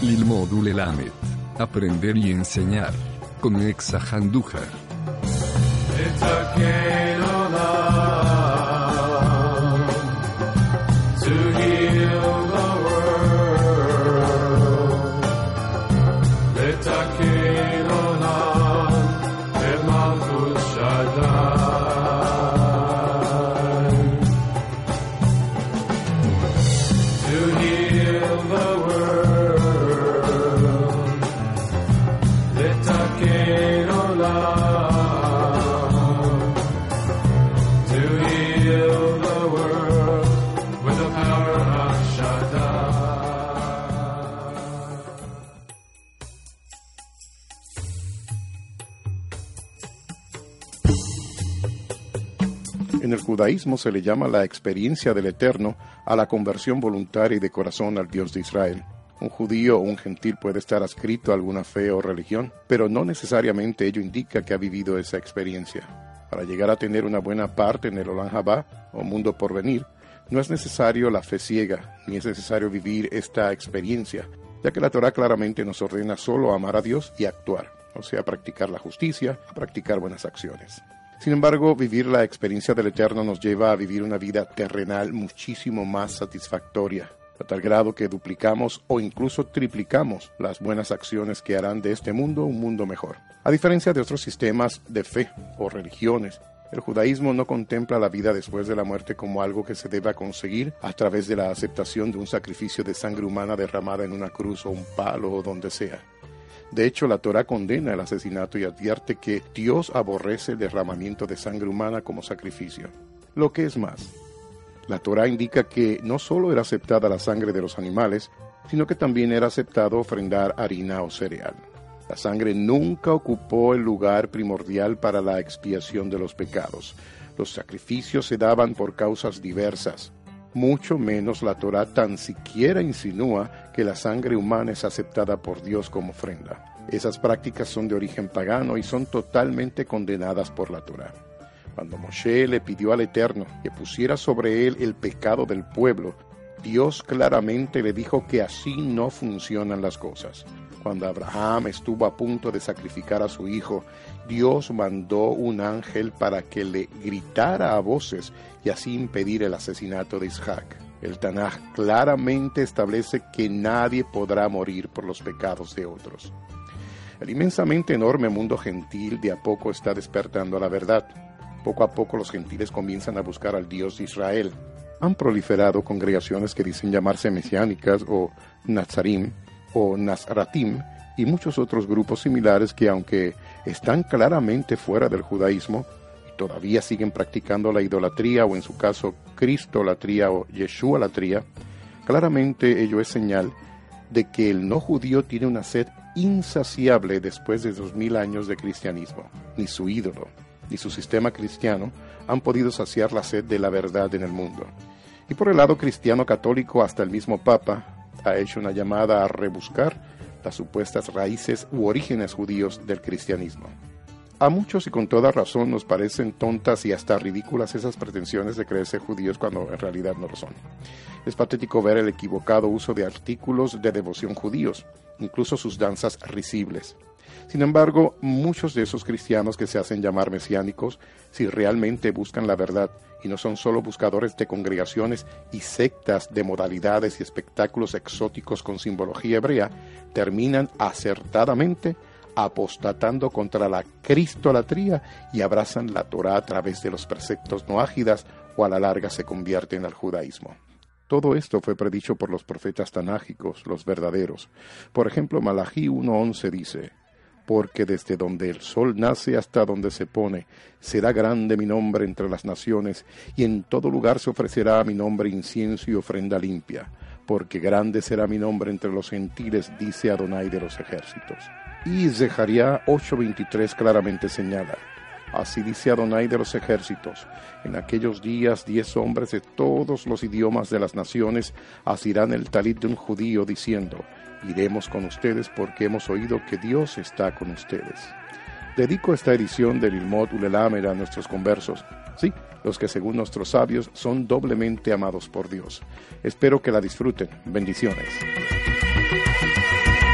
Lilmod Ulelamed. Aprender y enseñar con Nexa Handujar. En el judaísmo se le llama la experiencia del Eterno a la conversión voluntaria y de corazón al Dios de Israel. Un judío o un gentil puede estar adscrito a alguna fe o religión, pero no necesariamente ello indica que ha vivido esa experiencia. Para llegar a tener una buena parte en el Olam Haba, o mundo por venir, no es necesario la fe ciega, ni es necesario vivir esta experiencia, ya que la Torá claramente nos ordena solo amar a Dios y actuar, o sea, practicar la justicia, practicar buenas acciones. Sin embargo, vivir la experiencia del Eterno nos lleva a vivir una vida terrenal muchísimo más satisfactoria, a tal grado que duplicamos o incluso triplicamos las buenas acciones que harán de este mundo un mundo mejor. A diferencia de otros sistemas de fe o religiones, el judaísmo no contempla la vida después de la muerte como algo que se deba conseguir a través de la aceptación de un sacrificio de sangre humana derramada en una cruz o un palo o donde sea. De hecho, la Torá condena el asesinato y advierte que Dios aborrece el derramamiento de sangre humana como sacrificio. Lo que es más, la Torá indica que no solo era aceptada la sangre de los animales, sino que también era aceptado ofrendar harina o cereal. La sangre nunca ocupó el lugar primordial para la expiación de los pecados. Los sacrificios se daban por causas diversas. Mucho menos la Torá tan siquiera insinúa que la sangre humana es aceptada por Dios como ofrenda. Esas prácticas son de origen pagano y son totalmente condenadas por la Torá. Cuando Moshe le pidió al Eterno que pusiera sobre él el pecado del pueblo, Dios claramente le dijo que así no funcionan las cosas. Cuando Abraham estuvo a punto de sacrificar a su hijo, Dios mandó un ángel para que le gritara a voces y así impedir el asesinato de Isaac. El Tanaj claramente establece que nadie podrá morir por los pecados de otros. El inmensamente enorme mundo gentil de a poco está despertando a la verdad. Poco a poco los gentiles comienzan a buscar al Dios de Israel. Han proliferado congregaciones que dicen llamarse mesiánicas o nazarim o nazratim y muchos otros grupos similares que, aunque están claramente fuera del judaísmo y todavía siguen practicando la idolatría o en su caso cristolatría o yeshualatría, claramente ello es señal de que el no judío tiene una sed insaciable después de 2000 años de cristianismo. Ni su ídolo ni su sistema cristiano han podido saciar la sed de la verdad en el mundo. Y por el lado cristiano católico, hasta el mismo Papa ha hecho una llamada a rebuscar las supuestas raíces u orígenes judíos del cristianismo. A muchos y con toda razón nos parecen tontas y hasta ridículas esas pretensiones de creerse judíos cuando en realidad no lo son. Es patético ver el equivocado uso de artículos de devoción judíos, incluso sus danzas risibles. Sin embargo, muchos de esos cristianos que se hacen llamar mesiánicos, si realmente buscan la verdad y no son solo buscadores de congregaciones y sectas de modalidades y espectáculos exóticos con simbología hebrea, terminan acertadamente apostatando contra la cristolatría y abrazan la Torá a través de los preceptos noágidas o a la larga se convierten al judaísmo. Todo esto fue predicho por los profetas tanágicos, los verdaderos. Por ejemplo, Malají 1:11 dice: porque desde donde el sol nace hasta donde se pone, será grande mi nombre entre las naciones, y en todo lugar se ofrecerá a mi nombre incienso y ofrenda limpia, porque grande será mi nombre entre los gentiles, dice Adonai de los ejércitos. Y Zecarías 8:23 claramente señala: así dice Adonai de los ejércitos, en aquellos días 10 hombres de todos los idiomas de las naciones asirán el talit de un judío diciendo: iremos con ustedes porque hemos oído que Dios está con ustedes. Dedico esta edición del Lilmod Ulelamed a nuestros conversos, sí, los que según nuestros sabios son doblemente amados por Dios. Espero que la disfruten. Bendiciones.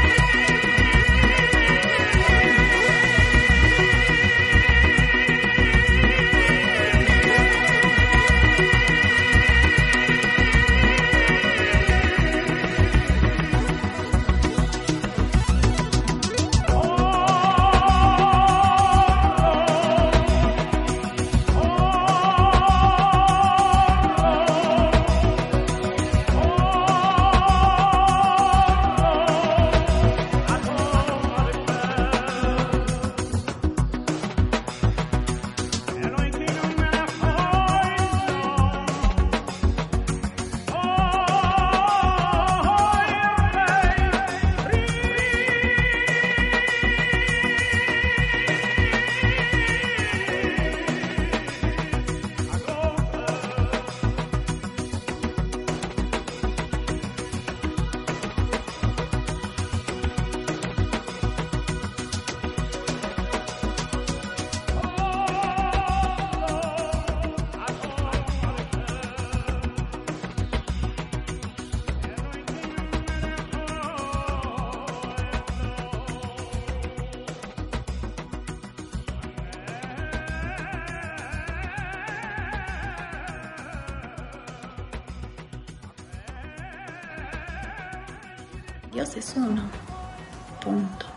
Dios es uno. Punto.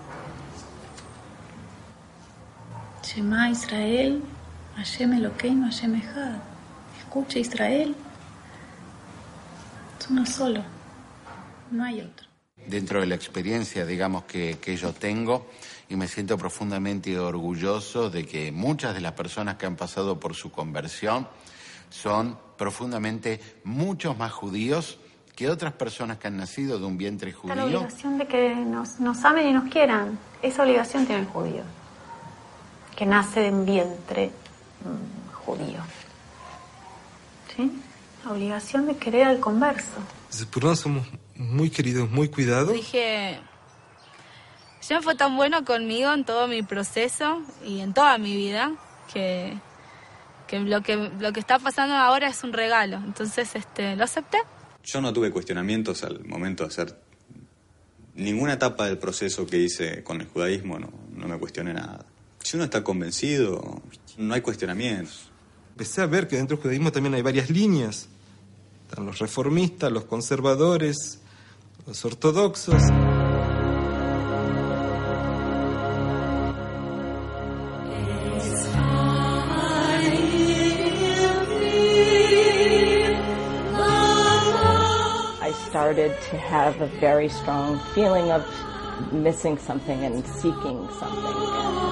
Shema Israel, Hashem Elokeinu, Hashem Echad. Escucha Israel. Es uno solo. No hay otro. Dentro de la experiencia, digamos, que yo tengo, y me siento profundamente orgulloso de que muchas de las personas que han pasado por su conversión son profundamente muchos más judíos que otras personas que han nacido de un vientre judío. La obligación de que nos amen y nos quieran, esa obligación tiene el judío, que nace de un vientre judío. ¿Sí? La obligación de querer al converso. Por nosotros somos muy queridos, muy cuidados. Dije, Hashem fue tan bueno conmigo en todo mi proceso y en toda mi vida que lo que está pasando ahora es un regalo. Entonces lo acepté. Yo no tuve cuestionamientos al momento de hacer ninguna etapa del proceso que hice con el judaísmo, no me cuestioné nada. Si uno está convencido, no hay cuestionamientos. Empecé a ver que dentro del judaísmo también hay varias líneas. Están los reformistas, los conservadores, los ortodoxos. I started to have a very strong feeling of missing something and seeking something.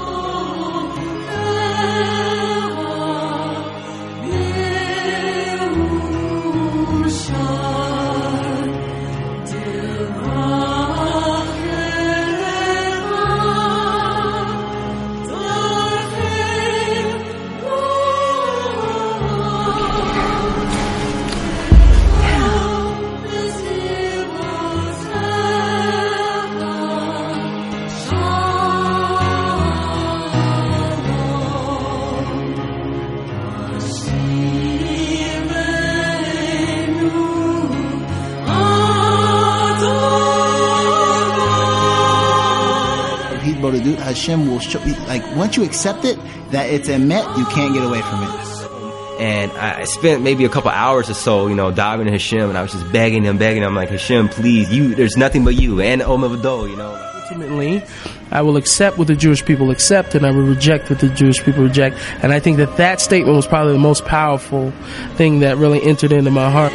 Hashem will show, like, once you accept it, that it's a met, you can't get away from it. And I spent maybe a couple hours or so, diving into Hashem, and I was just begging him. I'm like, Hashem, please, there's nothing but you, and Omavado, Ultimately, I will accept what the Jewish people accept, and I will reject what the Jewish people reject. And I think that statement was probably the most powerful thing that really entered into my heart.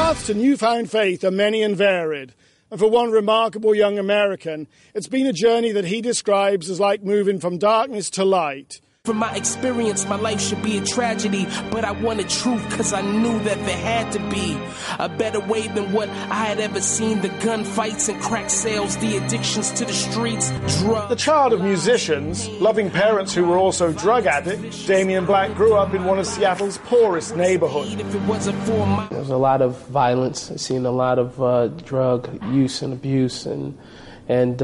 paths to newfound faith are many and varied. And for one remarkable young American, it's been a journey that he describes as like moving from darkness to light. From my experience, my life should be a tragedy, but I wanted truth because I knew that there had to be a better way than what I had ever seen. The gunfights and crack sales, the addictions to the streets, drugs. The child of musicians, loving parents who were also drug addicts, Damien Black grew up in one of Seattle's poorest neighborhoods. There's a lot of violence. I've seen a lot of drug use and abuse, and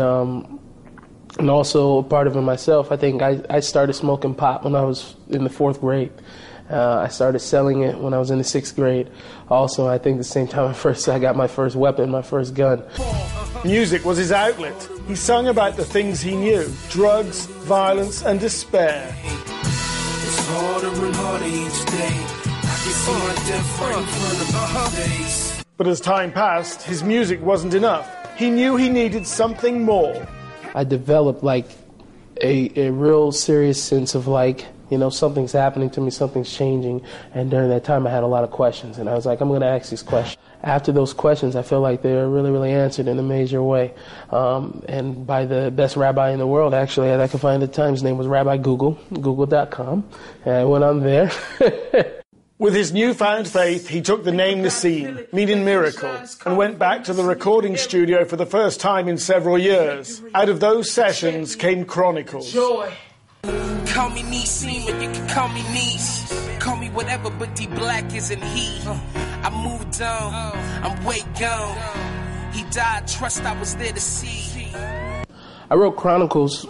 also part of it myself. I think I started smoking pot when I was in the 4th grade. I started selling it when I was in the 6th grade. Also, I think the same time I got my first weapon, my first gun. Music was his outlet. He sung about the things he knew: drugs, violence, and despair. It's harder and harder each day. I can see my death right in front of my face. But as time passed, his music wasn't enough. He knew he needed something more. I developed like a real serious sense of like, you know, something's happening to me, something's changing. And during that time I had a lot of questions, and I was like, I'm going to ask these questions. After those questions, I feel like they were really, really answered in a major way. And by the best rabbi in the world, actually, that I could find at the time. His name was Rabbi Google, google.com. And I went on there. With his newfound faith, he took the name Nassim, meaning miracle, and went back to the recording studio for the first time in several years. Out of those sessions came Chronicles. Joy. Call me Nassim, and you can call me Niece. Call me whatever, but D Black isn't he. I moved on, I'm way gone. He died, trust I was there to see. I wrote Chronicles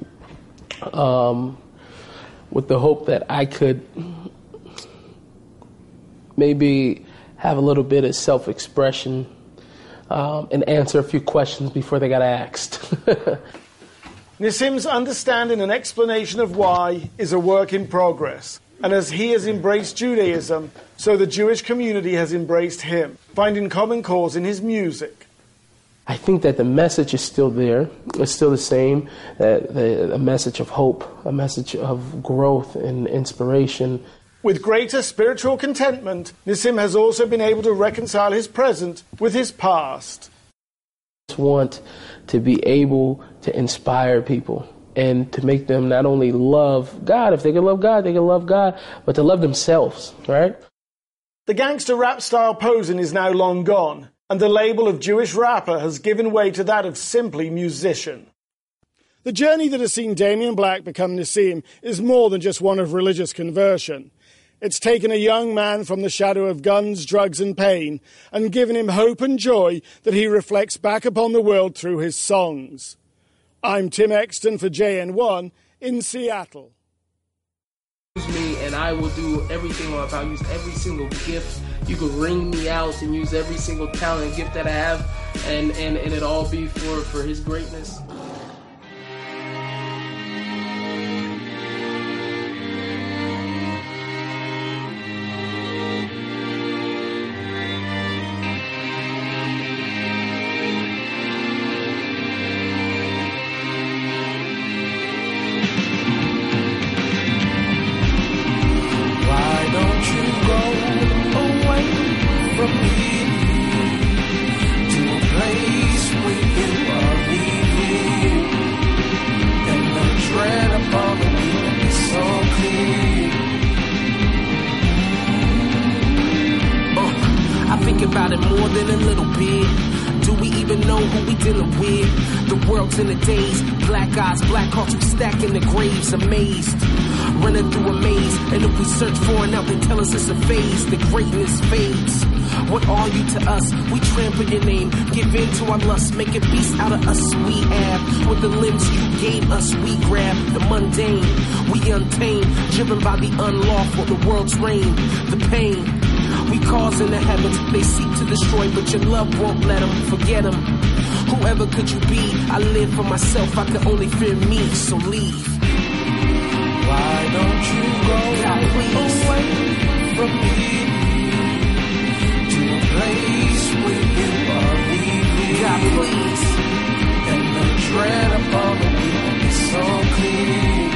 with the hope that I could maybe have a little bit of self-expression and answer a few questions before they got asked. Nassim's understanding and explanation of why is a work in progress. And as he has embraced Judaism, so the Jewish community has embraced him, finding common cause in his music. I think that the message is still there. It's still the same, a message of hope, a message of growth and inspiration. With greater spiritual contentment, Nassim has also been able to reconcile his present with his past. I want to be able to inspire people and to make them not only love God, if they can love God, they can love God, but to love themselves, right? The gangster rap style posing is now long gone, and the label of Jewish rapper has given way to that of simply musician. The journey that has seen Damien Black become Nassim is more than just one of religious conversion. It's taken a young man from the shadow of guns, drugs and pain and given him hope and joy that he reflects back upon the world through his songs. I'm Tim Exton for JN1 in Seattle. Use me and I will do everything. I'll use every single gift. You could ring me out and use every single talent and gift that I have and it all be for his greatness. About it more than a little bit. Do we even know who we dealing with? The world's in a daze. Black eyes, black hearts, we stacking the graves, amazed. Running through a maze, and if we search for it now, they tell us it's a phase. The greatness fades. What are you to us? We trample your name, give in to our lust, make a beast out of us. We have with the limbs you gave us. We grab the mundane, we untamed, driven by the unlawful, the world's reign, the pain. We cause in the heavens, they seek to destroy, but your love won't let them, forget them. Whoever could you be? I live for myself, I can only fear me, so leave. Why don't you go away from me to a place where you are leaving? God, please. And the dread upon the wind is so clear.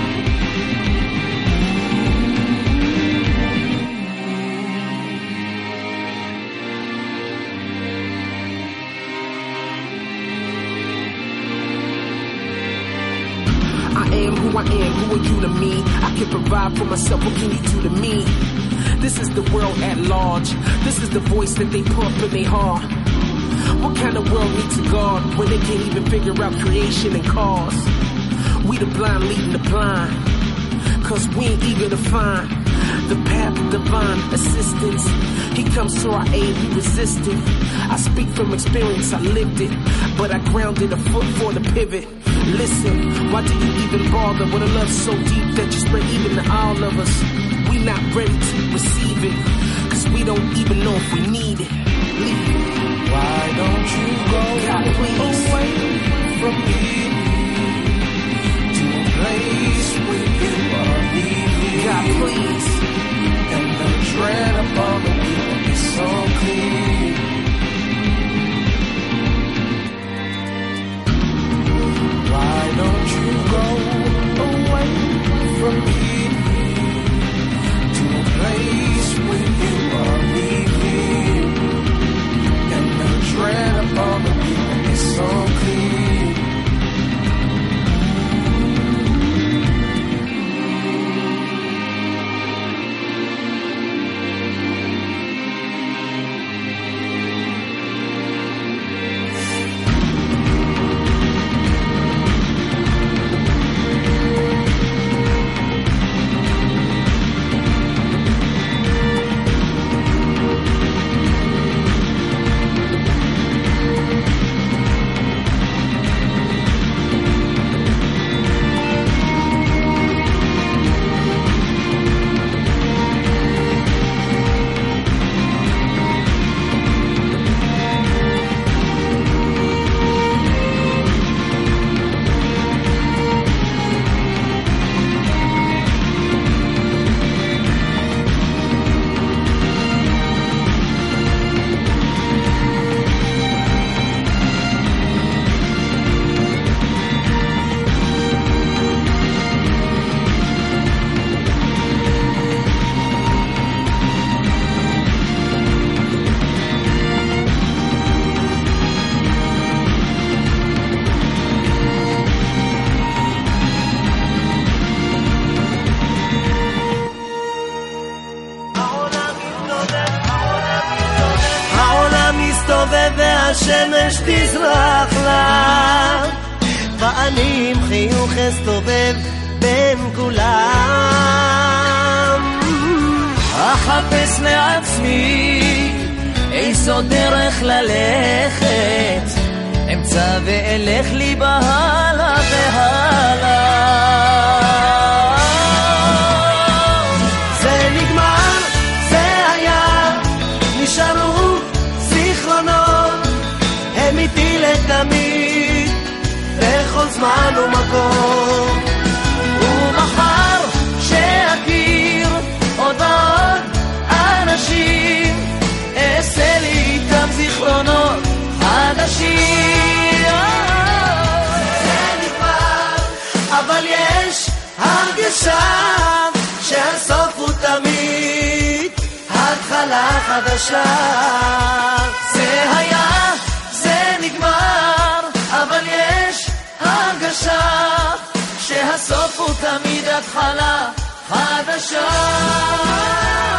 man, who are you to me? I can provide for myself, what can you do to me? This is the world at large. This is the voice that they pump in their heart. What kind of world needs a God when they can't even figure out creation and cause? We the blind leading the blind, cause we ain't eager to find the path of divine assistance. He comes to our aid, we resist it. I speak from experience, I lived it, but I grounded a foot for the pivot. Listen, why do you even bother with a love so deep that you spread even to all of us? We not ready to receive it, cause we don't even know if we need it. Leave it. Why don't you go away from me to a place where you are leaving? God, please. And the dread upon the wheel is so clear. Why don't you go away from me to a place where you are leaving? And the dread upon the wheel is so clear. השמש תזרח לה ואני עם חיוך אסתובב בין כולם אחפש לעצמי איזו דרך ללכת אמצא ואלך לי בהלה והלה זה נגמר, זה היה נשארו זיכרונות הם איתי לתמיד בכל זמן ומקום ומחר שאכיר עוד ועוד אנשים אעשה לי איתם זיכרונות חדשים זה נגמר אבל יש הרגשה שהסוף הוא תמיד התחלה חדשה זה היה זה נגמר אבל יש הרגשה שהסוף הוא תמיד התחלה חדשה